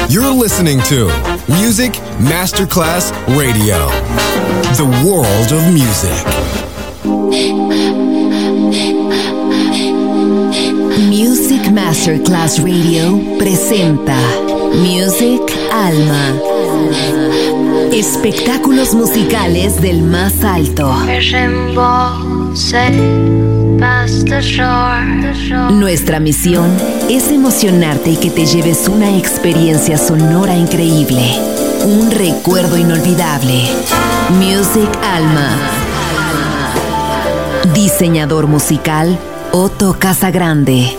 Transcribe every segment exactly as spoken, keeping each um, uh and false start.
You're listening to Music Masterclass Radio, the world of music. Music Masterclass Radio presenta Music Alma. Espectáculos musicales del más alto. Nuestra misión es emocionarte y que te lleves una experiencia sonora increíble, un recuerdo inolvidable. Music Alma. Diseñador musical Otto Casagrande.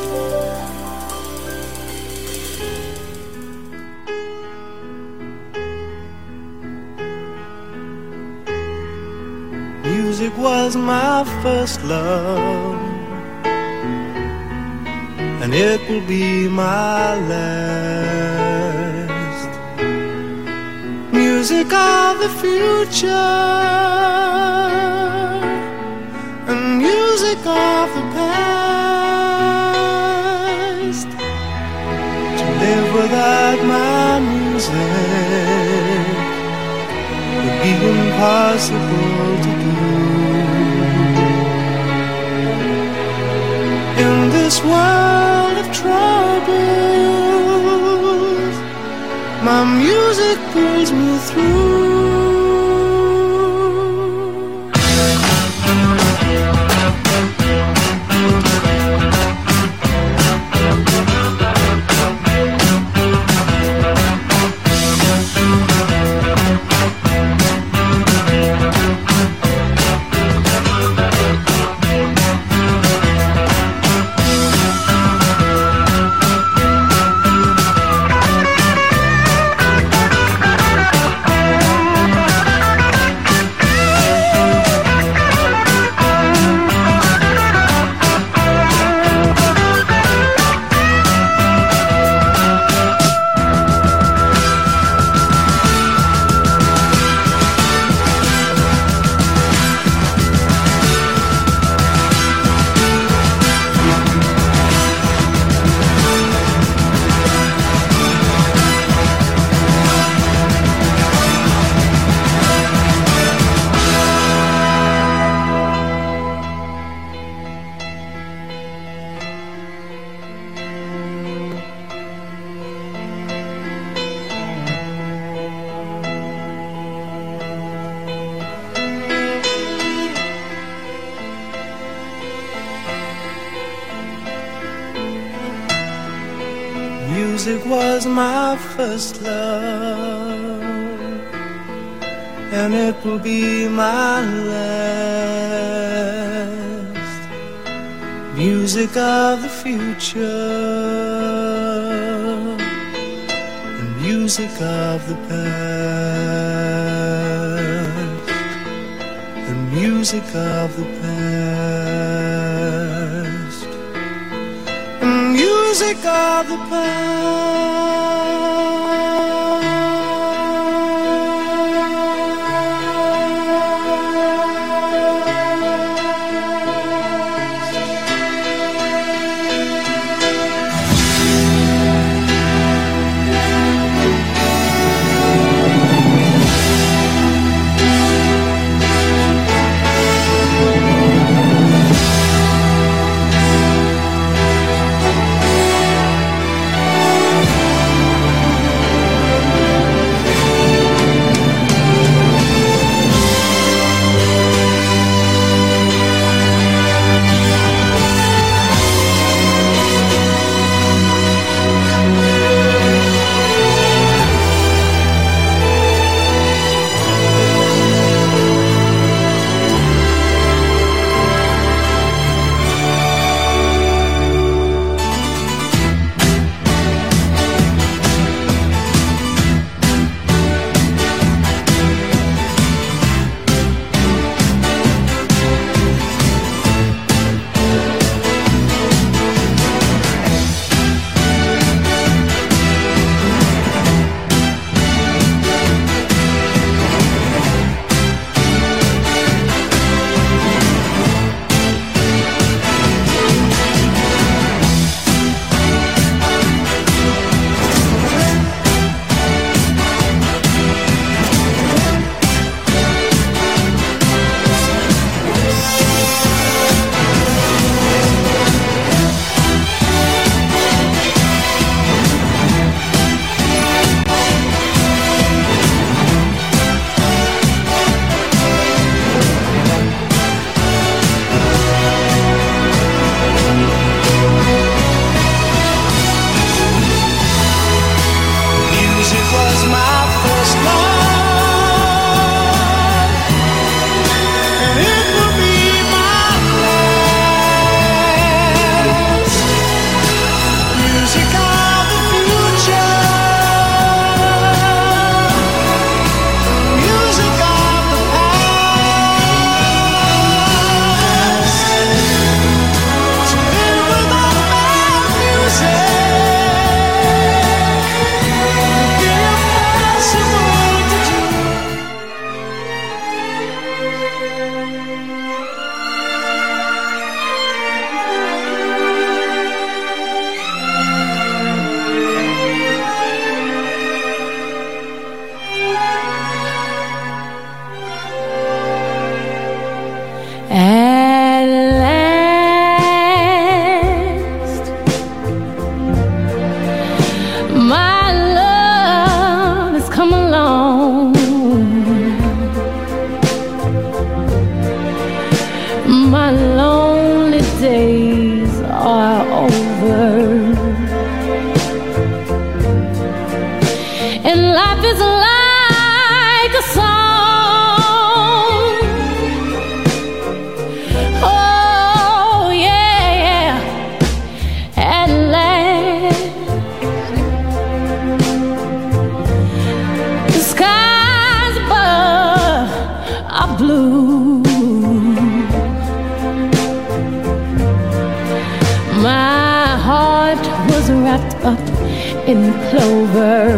Music was my first love, and it will be my last. Music of the future, and music of the past. To live without my music would be impossible to do. In this world of troubles, my music pulls me through. Music was my first love, and it will be my last. Music of the future, and music of the past, and music of the past, and music of the past. blue. My heart was wrapped up in clover.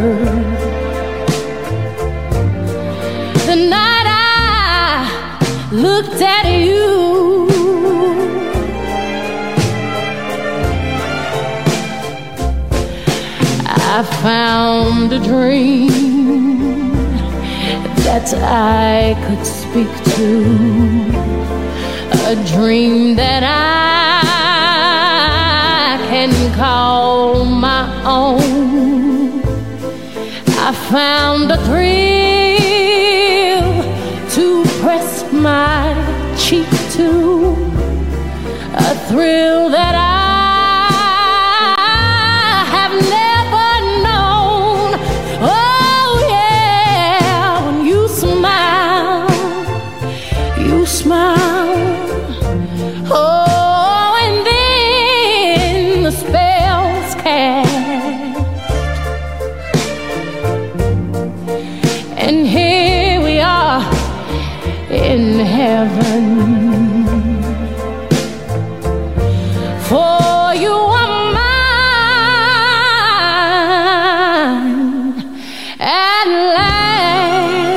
The night I looked at you, I found a dream that I could speak to, a dream that I can call my own. I found a thrill to press my cheek to, a thrill that I have never known. Oh yeah, when you smile, you smile. Oh, and then the spell's cast, and here we are in heaven. For you are mine at last.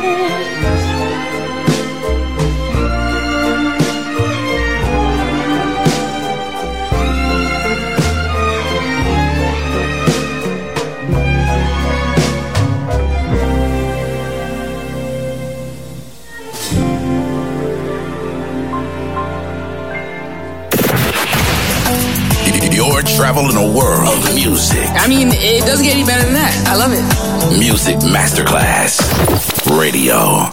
You're traveling a world of music. I mean, it doesn't get any better than that. I love it. Music Masterclass Radio.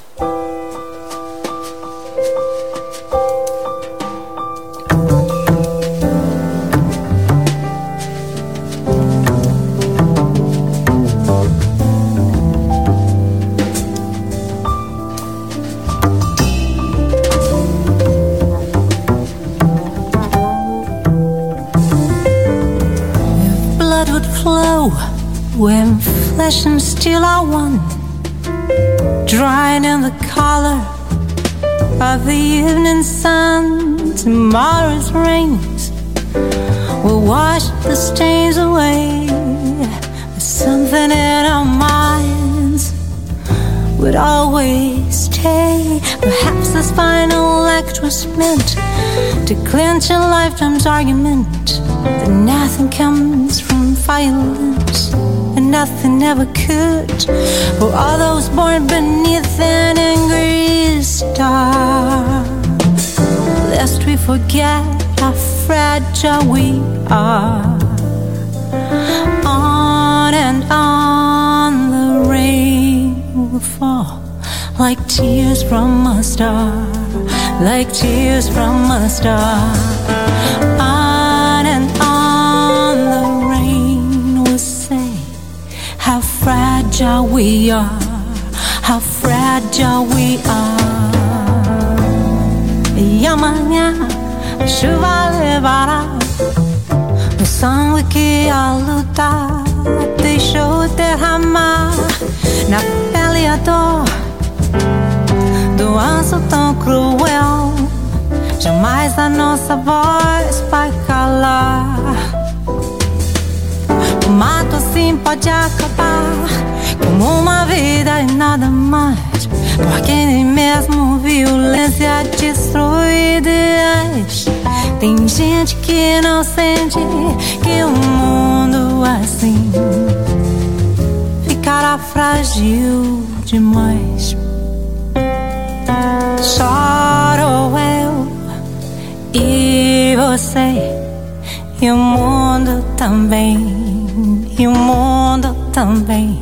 When flesh and steel are one, drying in the color of the evening sun, tomorrow's rains will wash the stains away. There's something in our minds would always stay. Perhaps this final act was meant to clinch a lifetime's argument that nothing comes from violence and nothing ever could. For all those born beneath an angry star, lest we forget how fragile we are. On and on the rain will fall like tears from a star, like tears from a star. On and on the rain will say how fragile we are, how fragile we are. E amanhã a chuva levará o sangue que a lutar deixou derramar na pele a dor do anjo tão cruel. Jamais a nossa voz vai calar. O mato assim pode acabar como uma vida e nada mais, porque nem mesmo violência destrói ideais. Tem gente que não sente que um mundo assim ficará frágil demais. Choro eu e você, e o mundo também, e o mundo também.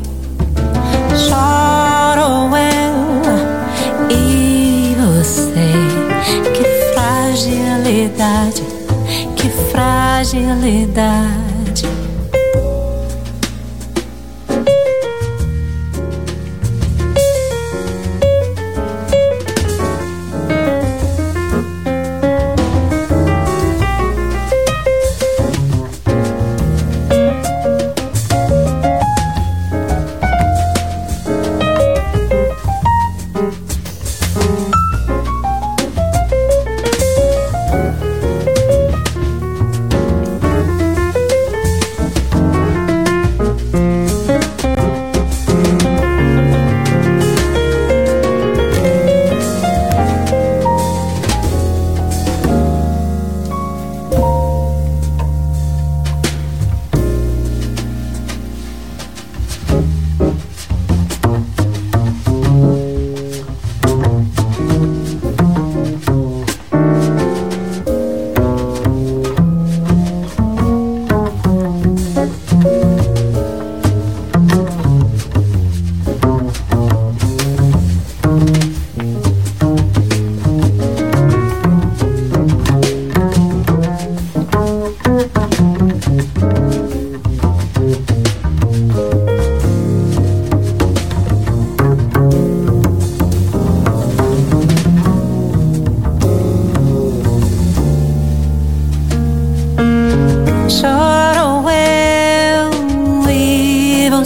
Choro eu e você, que fragilidade, que fragilidade.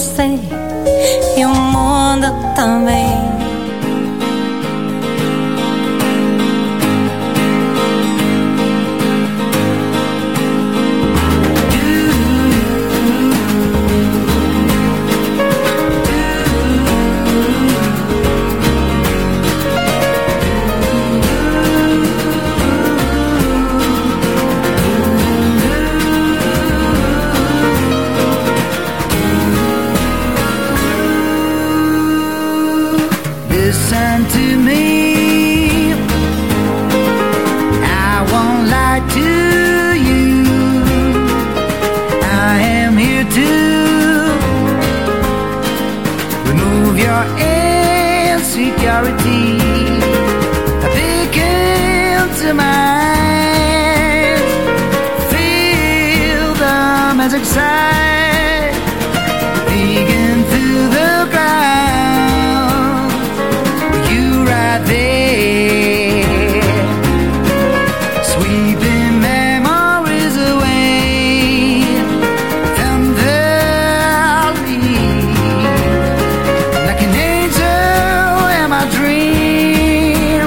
você e o mundo também. Listen to me, I won't lie to you, I am here to remove your insecurity, peek into mine, feel the magic side, peeking through the ground. Right there, sweeping memories away, tenderly, like an angel in my dream,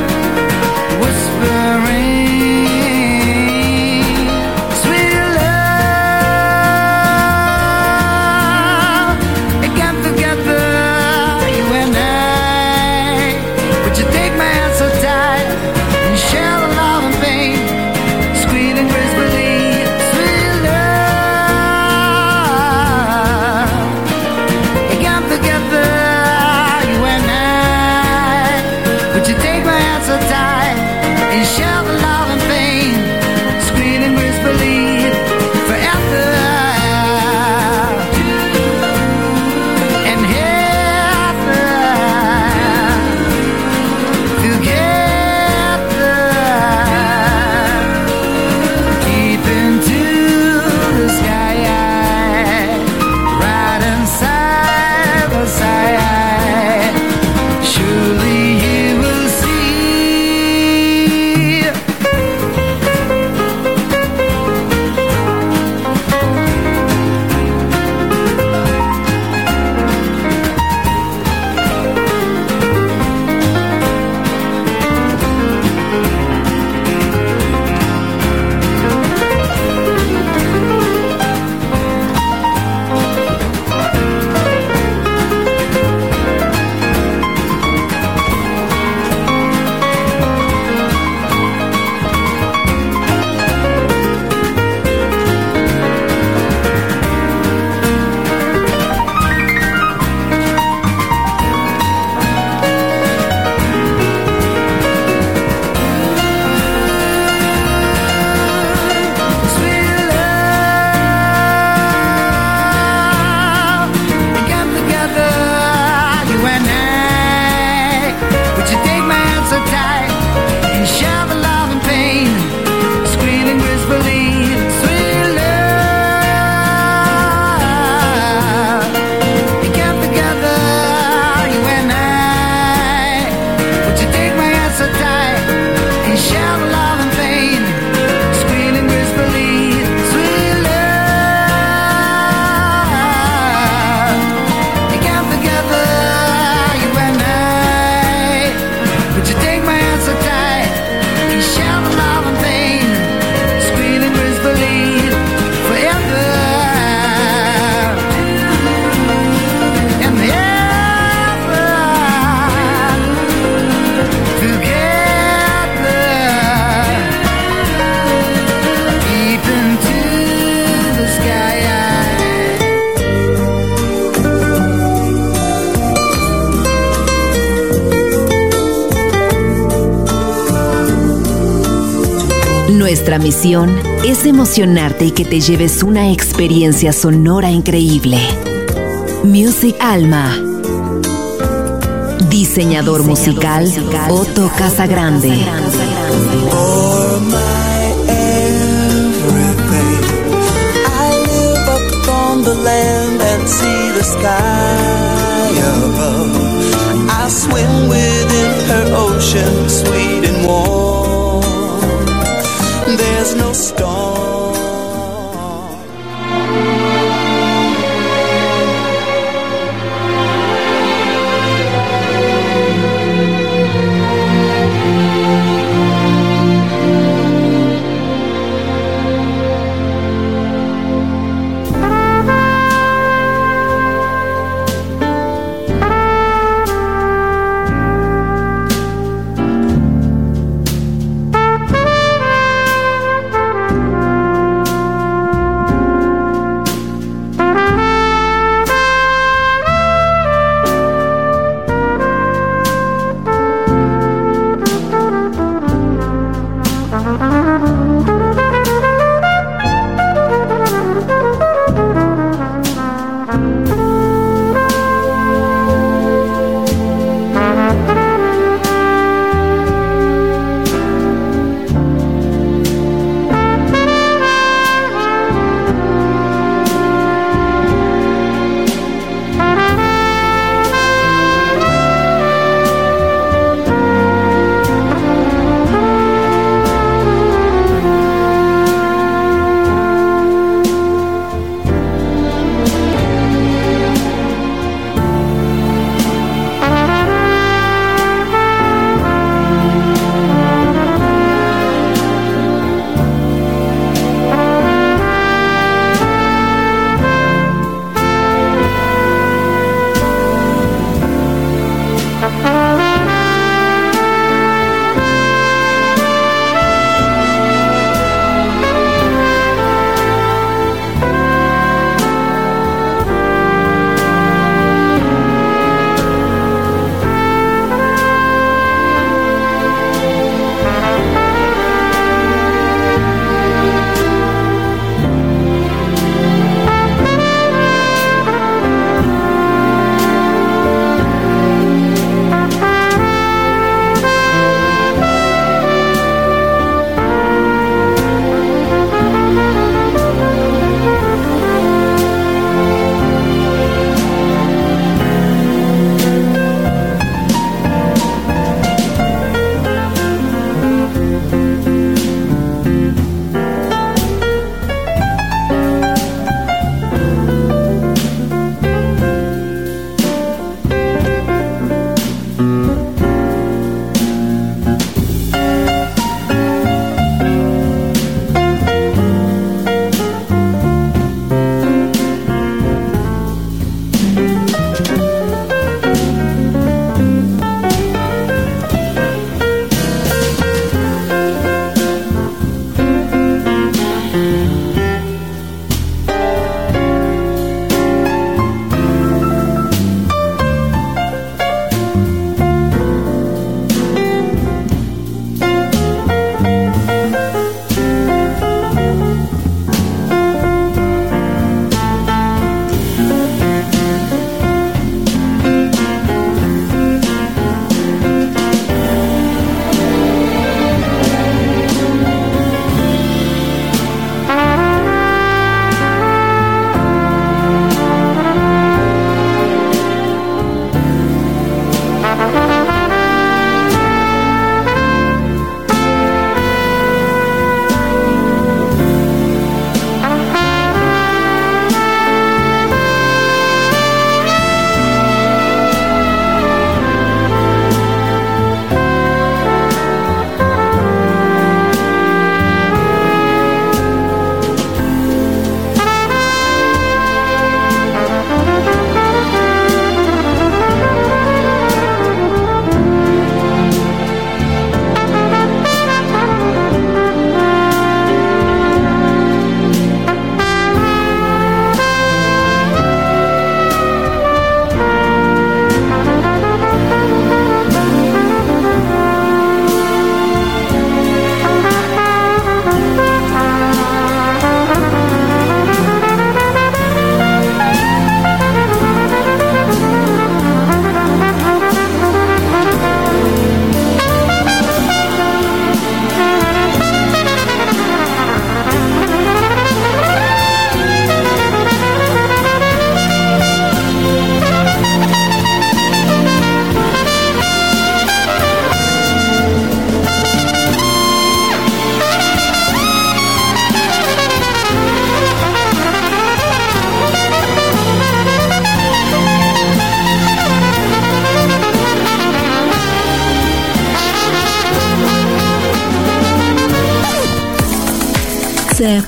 whispering, sweet love, again together, you and I. You take my hand so tight and share the love and pain, sweet and gracefully, sweet love. Again together, you and I. Would you take my hand so tight and share the love and pain, sweet and gracefully, forever and ever. Nuestra misión es emocionarte y que te lleves una experiencia sonora increíble. Music Alma. Diseñador musical Otto Casagrande. For my everything, I live up on the land and see the sky above. I swim within her ocean, sweet and warm. There's no storm.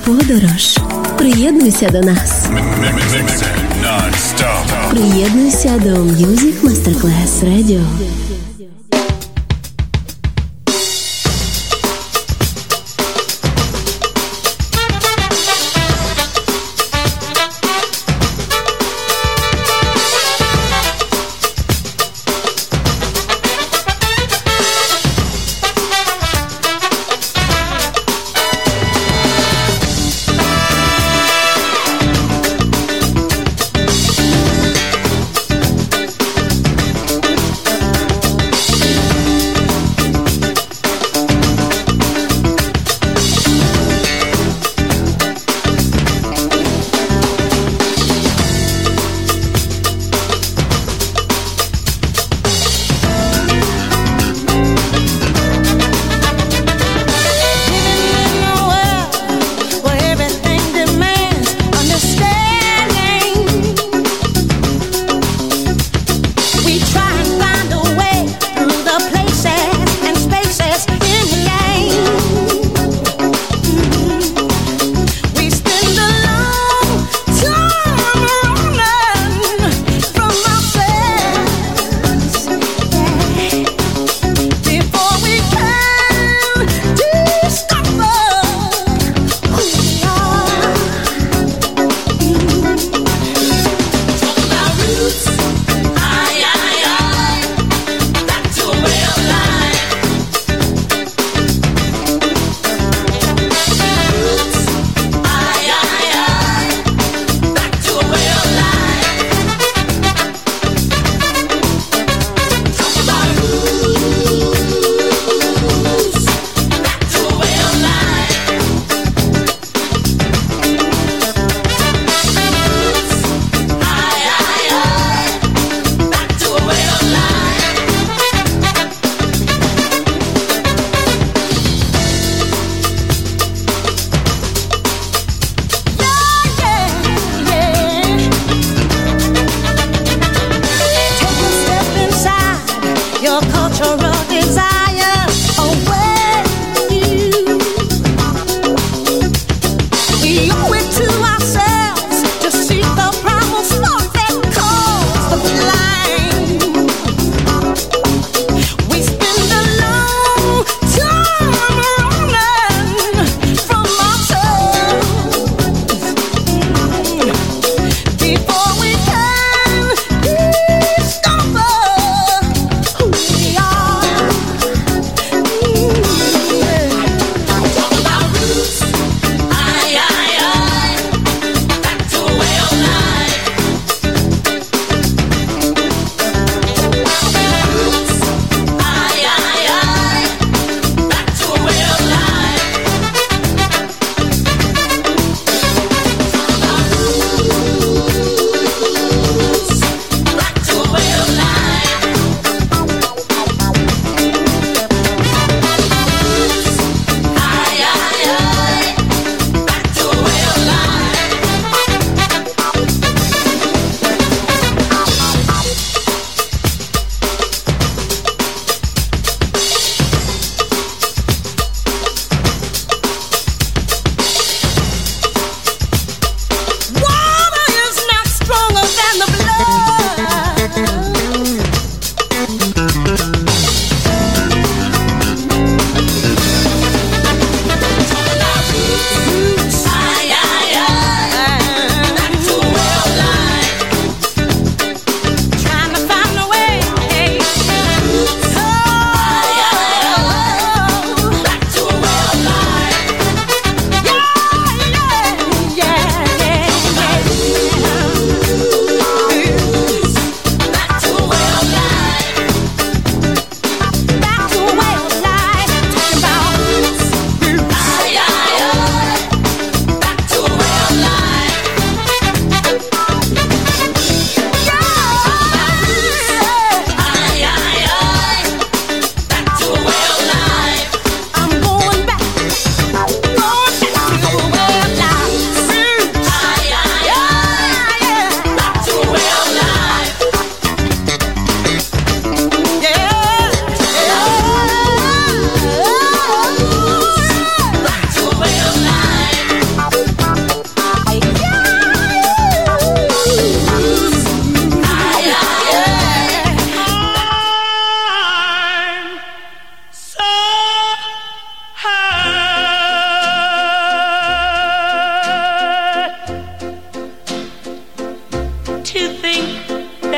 подорож. Приєднуйся до нас. Приєднуйся до Music Masterclass Radio.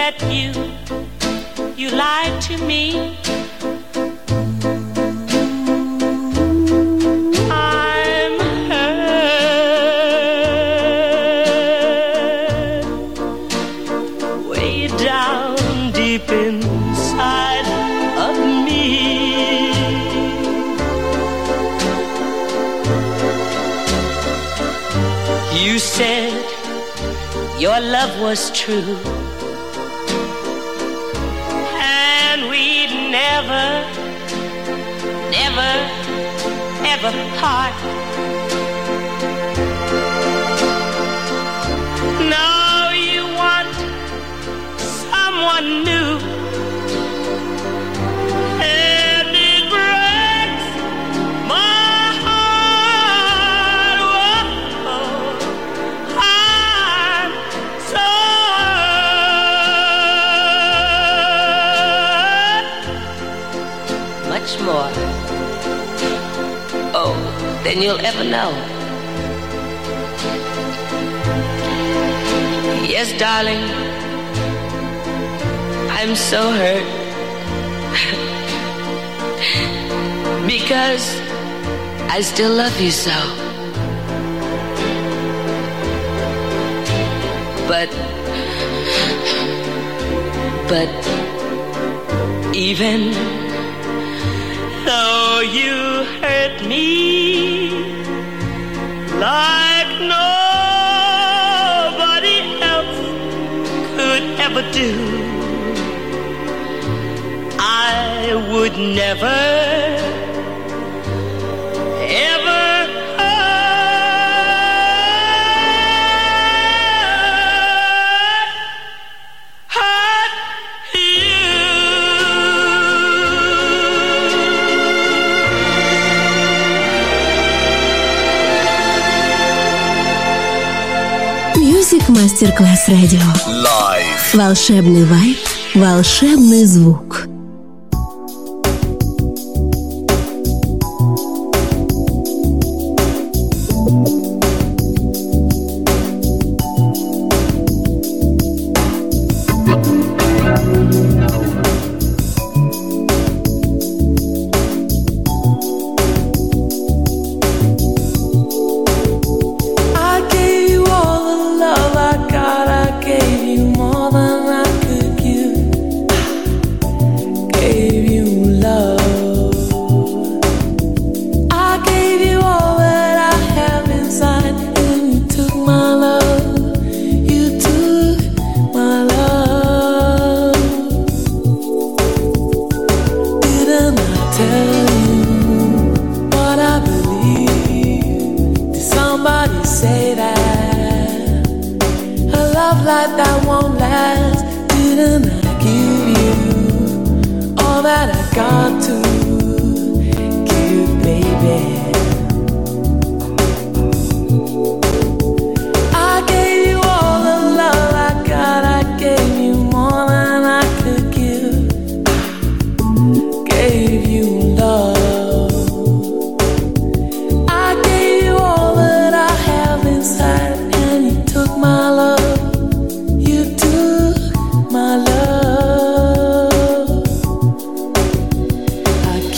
met you, you lied to me. I'm hurt way down deep inside of me. You said your love was true, and we'd never, never, ever part. Now you want someone new, and it breaks my heart. Whoa, I'm so hurt. Much more, oh, than you'll ever know. Yes, darling, I'm so hurt because I still love you so. But, but even though you hurt me like nobody else could ever do, I would never, ever hurt, hurt you. Music Masterclass Radio. Live. Волшебный вайб, волшебный звук. I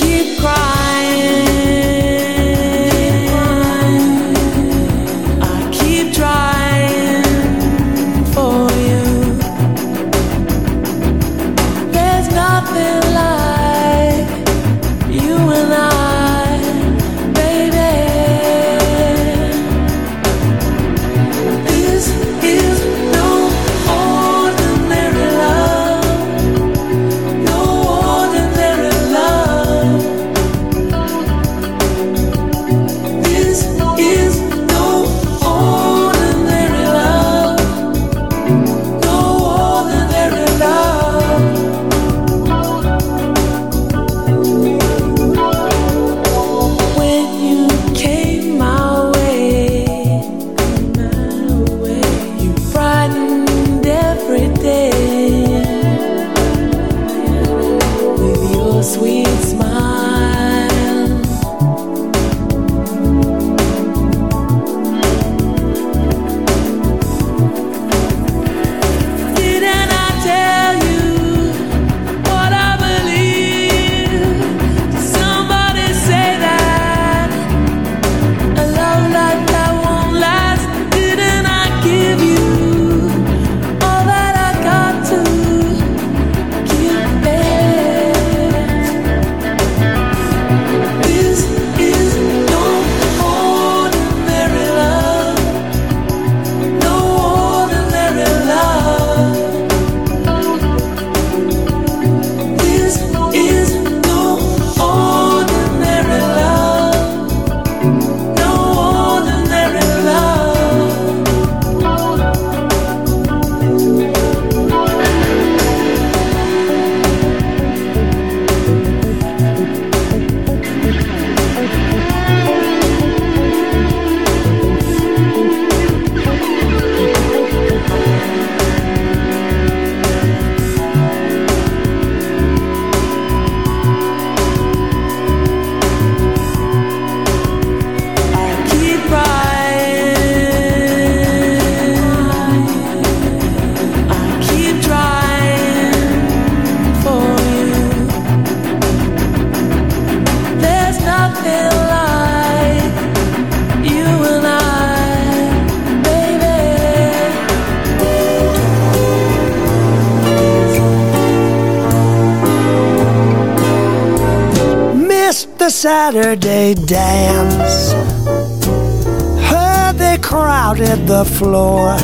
Saturday dance. Heard they crowded the floor.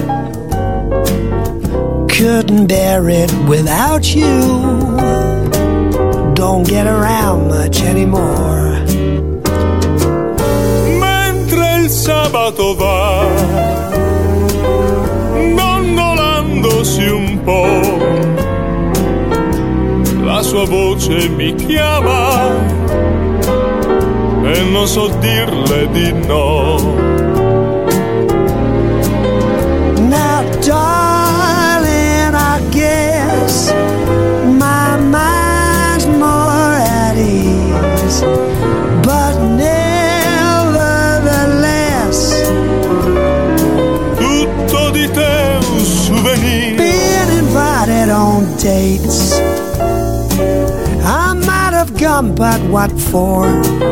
Couldn't bear it without you. Don't get around much anymore. Mentre il sabato va dondolandosi un po', la sua voce mi chiama e non so dirle di no. Now darling, I guess my mind's more at ease, but nevertheless tutto di te un souvenir. Being invited on dates, I might have gone, but what for?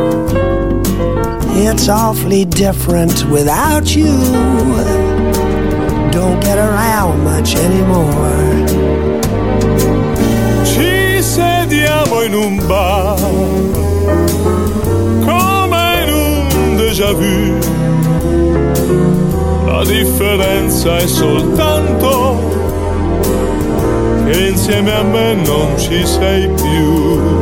It's awfully different without you. Don't get around much anymore. Ci sediamo in un bar, come in un déjà vu. La differenza è soltanto che insieme a me non ci sei più.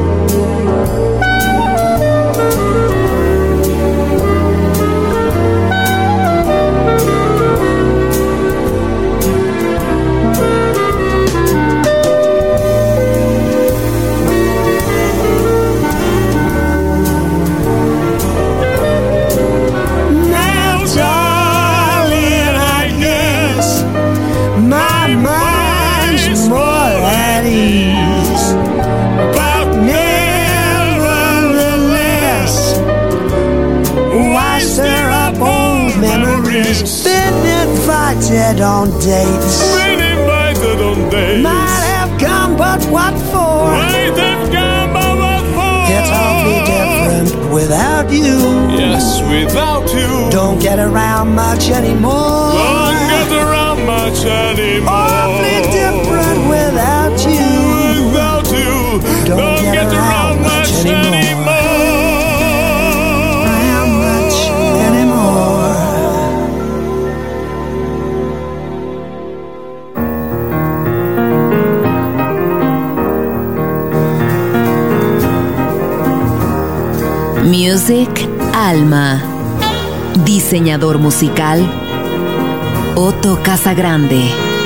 Been invited on dates. Been invited on dates. Might have come, but what for? Might have come, but what for? It's awfully different without you. Yes, without you. Don't get around much anymore. Don't get around much anymore. Awfully different without you. Without you. Don't, Don't get, get around, around much much anymore. anymore. Around much anymore. Music Alma. Diseñador musical Otto Casagrande.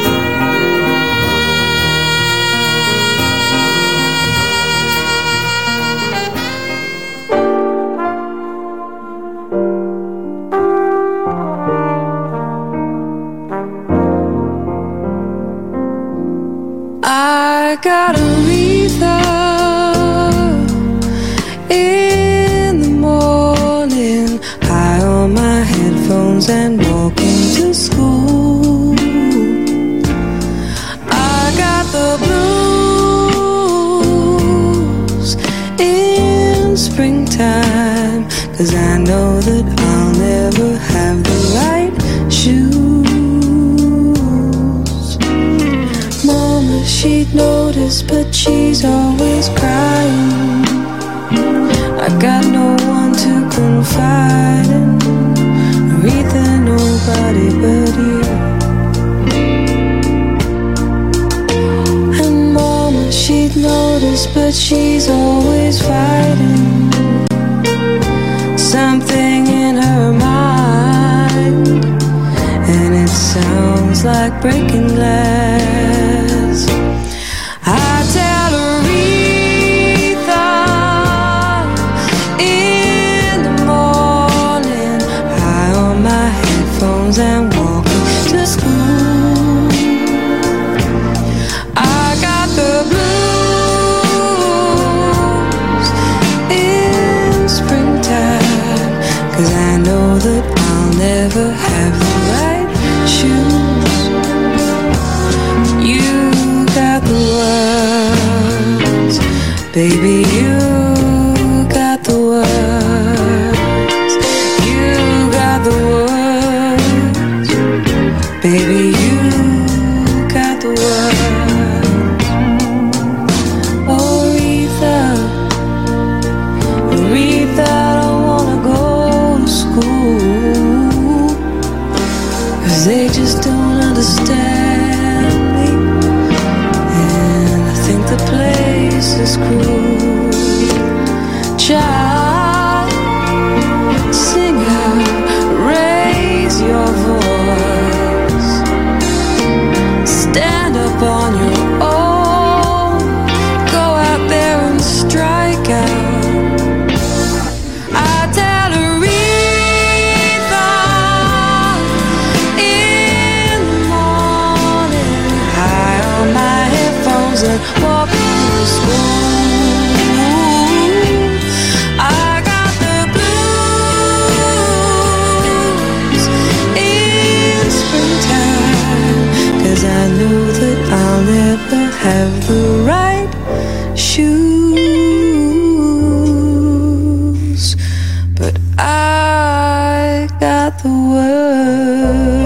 I got a Aretha in the morning, high on my headphones and walking to school. I got the blues in springtime, 'cause I know that I'll never have the right shoes. Mama, she'd notice, but she's always crying. I got no one to confide in, Aretha, nobody but you. And Mama, she'd notice, but she's always fighting something in her mind, and it sounds like breaking glass. I tell Aretha in the morning, high on my headphones and walking to school. I got the blues in springtime, 'cause I know that I'll never have the right shoes. You got the words, baby, you got the words. You got the words, baby, you got the words. Oh, Aretha, Aretha, face is cruel. Child, sing out, raise your voice, stand up on your own, go out there and strike out. I tell Aretha in the morning, high on my headphones and walk through the school. I got the blues in springtime, 'cause I know that I'll never have the right shoes, but I got the words.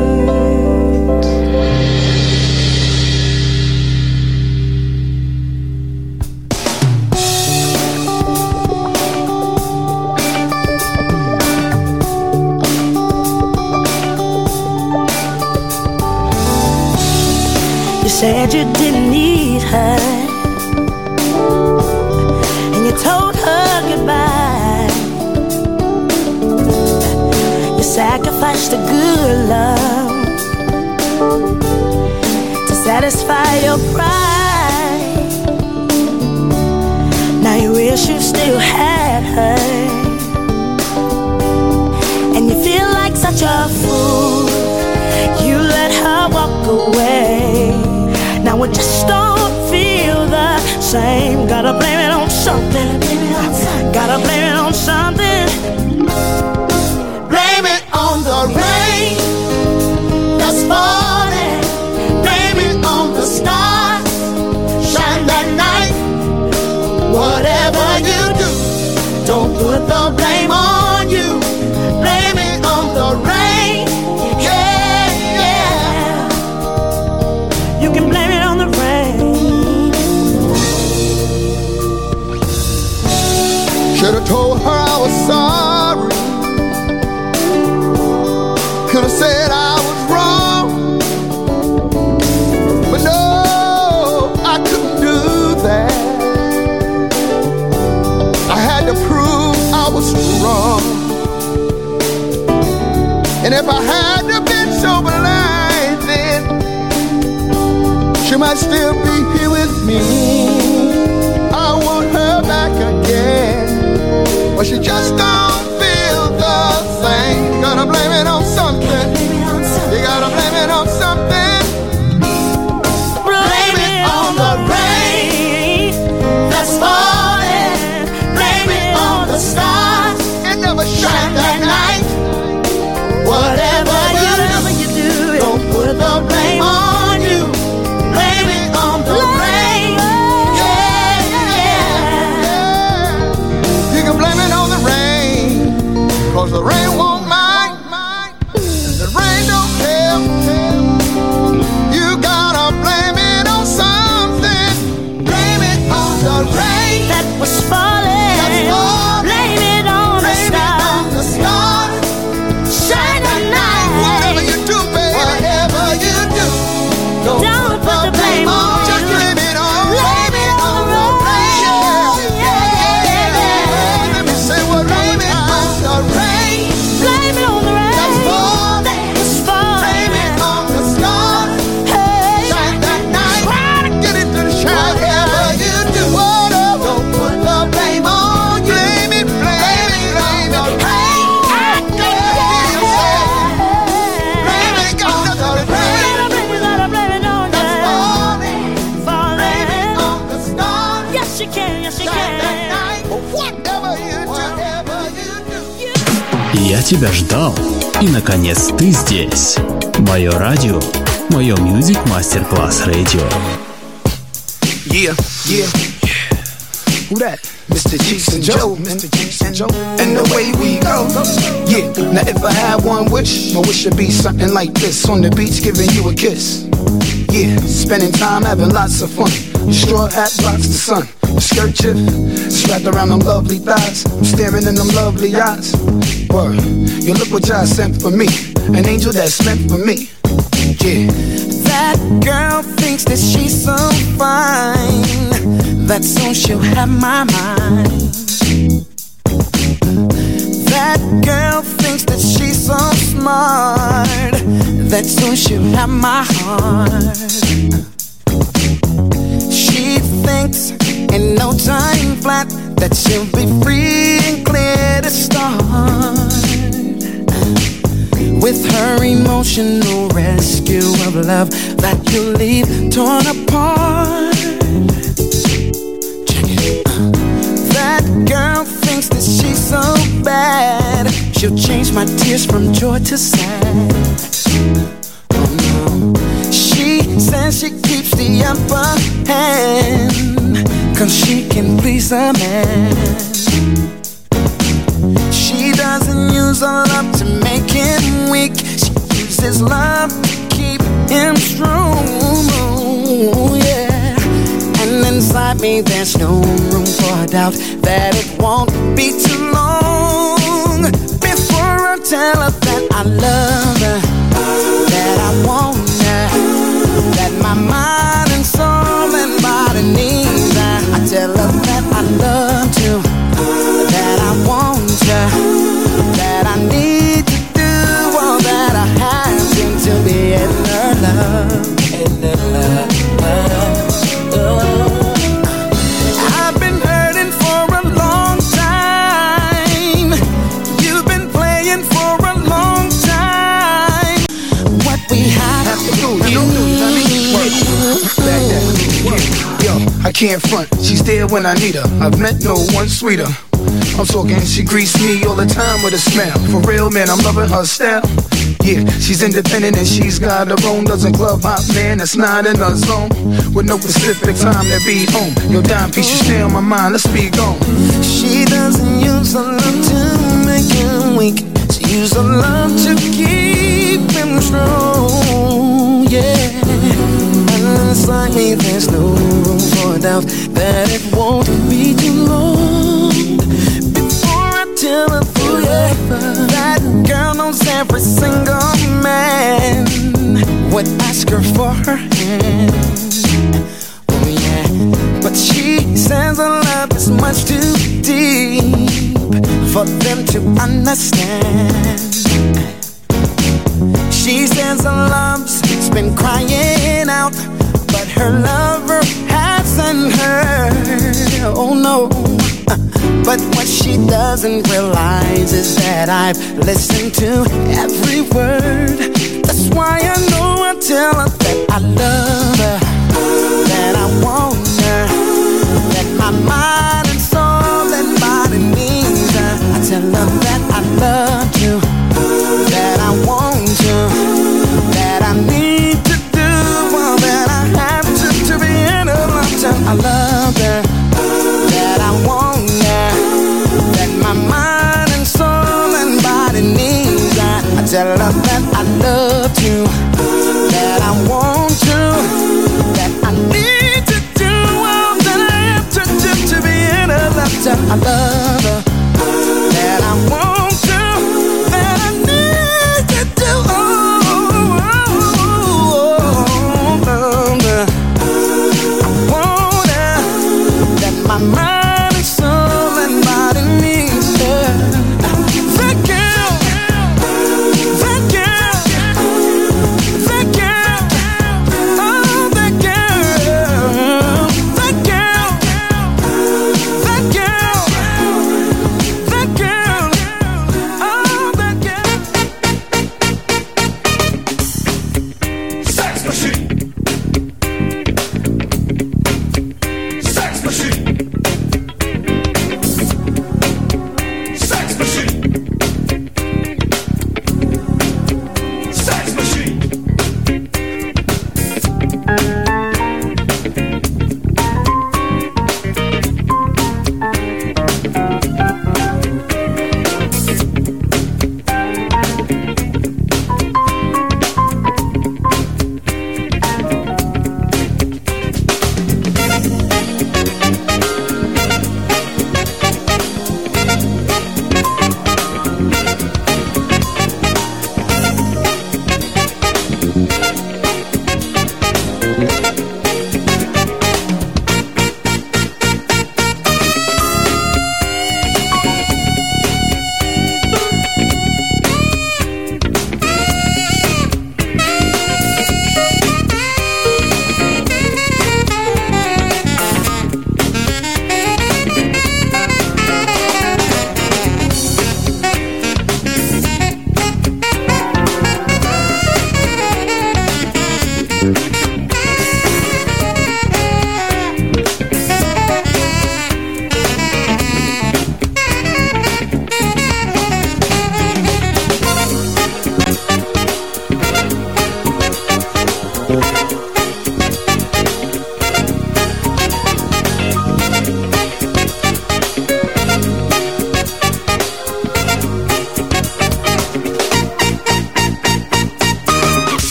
You said you didn't need her, and you told her goodbye. You sacrificed a good love to satisfy your pride. Now you wish you still had her, and you feel like such a fool. You let her walk away. Now it just don't feel the same. Gotta blame it on something. Gotta blame it on something. Blame it on the rain that's falling. Blame it on the stars shine that night. Whatever you do, don't put the blame on you. Blame it on the rain. Yeah, yeah. You can blame it on the rain. Should've told her I was sorry. Could've said I was wrong. But no, I couldn't do that. I had to prove I was wrong. And if I hadn't been so blind then, she might still be here with me. I want her back again, but she just don't feel the same. Gotta blame it on something. You gotta blame it on something. Blame it on the rain that's falling. Blame it on the stars. It never shine that night. Whatever you do, don't put the blame on you. Blame it on the rain. Yeah, yeah. You can blame it on the rain, 'cause the rain won't mind. The rain don't care. You gotta blame it on something. Blame it on the rain that was falling. That's falling. Blame it on the Blame it stars. on the stars. Shine the night. Whatever you do, baby. Whatever you do, don't, Don't put the blame on you. Just blame it on. Blame it on the rain. Yeah, yeah, yeah. Let me say what blame it on the rain. Blame it on the rain. That's falling. It's falling. Blame it on the stars. Hey. Shine that night. Try to get it to shine. Whatever you do, whatever. Don't put the blame on you. Blame it, blame it, blame it on the rain. I got to say, blame it on the rain. Blame it, gotta blame it on That's you. falling. Falling. Blame it on the stars. Yes, you can, yes, you Shine that can. night. Whatever you do, whatever you do. Я тебя ждал, и наконец ты здесь. Мое радио, мое Music Masterclass Radio. Yeah, yeah, yeah. Who that? Mister Cheeks and Joe, Mister Cheeks and Joe, and the way we go. Yeah, now if I had one wish, my wish would be something like this: on the beach, giving you a kiss. Yeah, spending time having lots of fun. Your straw hat blocks the sun. Your skirt chip strapped around them lovely thighs. I'm staring in them lovely eyes. Word, you look what y'all sent for me. An angel that's meant for me. Yeah. That girl thinks that she's so fine. that soon she'll have my mind. That girl thinks that she's so smart, that soon she'll have my heart. She thinks in no time flat that she'll be free and clear to start with her emotional rescue of love that you'll leave torn apart. Check it. That girl thinks that she's so bad, she'll change my tears from joy to sad. Oh no. She says she keeps the upper hand, cause she can please a man. She doesn't use her love to make him weak, she uses love to keep him strong. Yeah. And inside me there's no room for a doubt that it won't be too long before I tell her that I love her, that I want her, that my mind and soul and body needs her. I tell her that I love you, that I want you, that I need to do all that I have to to be in her love, in her love. Oh. I've been hurting for a long time. You've been playing for a long time. What we have to do, you Yo, I can't front, she's there when I need her. I've met no one sweeter. I'm talking, she greets me all the time with a smile. For real, man, I'm loving her style. Yeah, she's independent and she's got her own. Doesn't club hop, man, that's not in her zone. With no specific time to be home. Your dime piece, you stay on my mind, let's be gone. She doesn't use her love to make him weak, she uses her love to keep him strong. Yeah. Inside me there's no room for a doubt that it won't be too long before I tell her forever. That girl knows every single man would ask her for her hand. Oh yeah, but she says her love is much too deep for them to understand. She says her love's been crying out, but her lover hasn't heard. Oh no. But what she doesn't realize is that I've listened to every word. That's why I know I tell her that I love her, that I want her, that my mind and soul and body needs her. I tell her that I love you, that I want you, that I need to do all that I have to to be in her lifetime. I love her, that I want her, that my mind and soul and body needs her. I tell her that I love you, that I want you, that I need to do all that I have to do to be in her lifetime. I love her, that I want you, that I need to do all, all, all, all, all. I want her,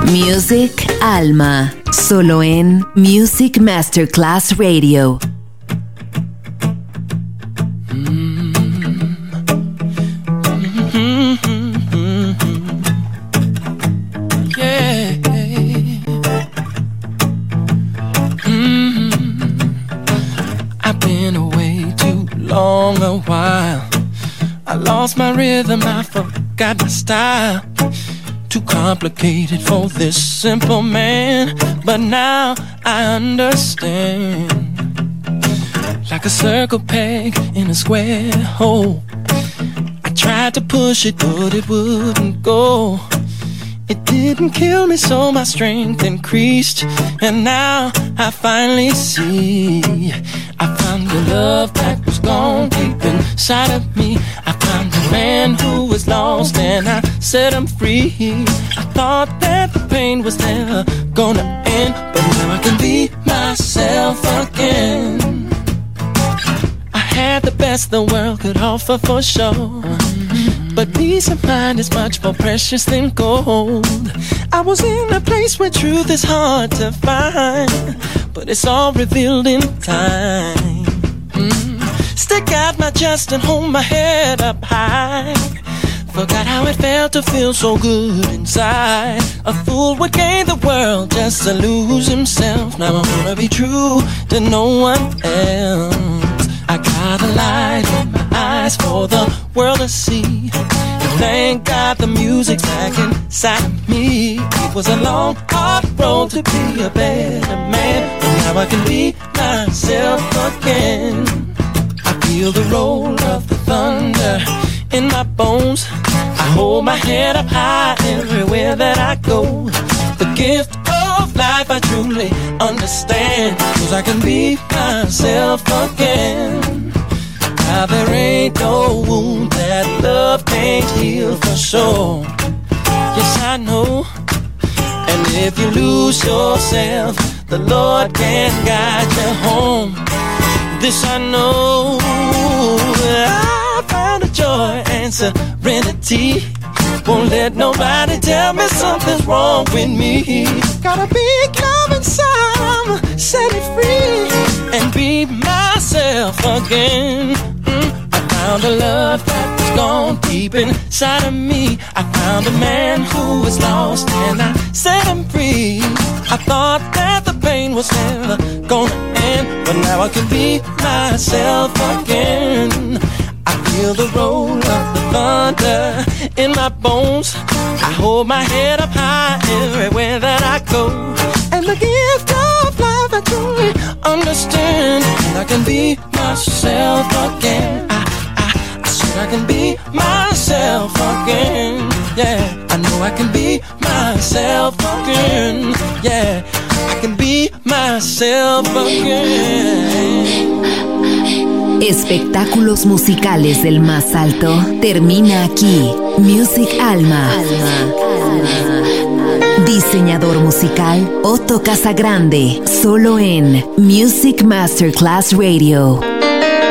Music Alma, solo en Music Masterclass Radio. Lost my rhythm, I forgot my style. Too complicated for this simple man, but now I understand. Like a circle peg in a square hole, I tried to push it, but it wouldn't go. It didn't kill me, so my strength increased, and now I finally see. I found the love that was gone deep inside of me. I found the man who was lost and I set him free. I thought that the pain was never gonna end, but now I can be myself again. I had the best the world could offer for sure, but peace of mind is much more precious than gold. I was in a place where truth is hard to find, but it's all revealed in time. Mm. Stick out my chest and hold my head up high. Forgot how it felt to feel so good inside. A fool would gain the world just to lose himself. Now I wanna be true to no one else. I got a light in my eyes for the world to see. Thank God the music's back inside of me. It was a long, hard road to be a better man, but now I can be myself again. I feel the roll of the thunder in my bones. I hold my head up high everywhere that I go. The gift of life I truly understand, 'cause I can be myself again. Now there ain't no wound that love can't heal for sure. Yes, I know. And if you lose yourself, the Lord can guide you home. This I know. I found a joy and serenity. Won't let nobody tell me something's wrong with me. Got a big love inside, I'ma set it free and be myself again. Mm, I found a love that was gone deep inside of me. I found a man who was lost and I set him free. I thought that the pain was never gonna end, but now I can be myself again. I feel the roll of the thunder in my bones. I hold my head up high everywhere that I go. And the gift of life I truly understand. And I can be myself again. I, I, I said I can be myself again. Yeah, I know I can be myself again. Yeah, I can be myself again. Espectáculos musicales del más alto termina aquí. Music Alma. Diseñador musical Otto Casagrande, solo en Music Masterclass Radio.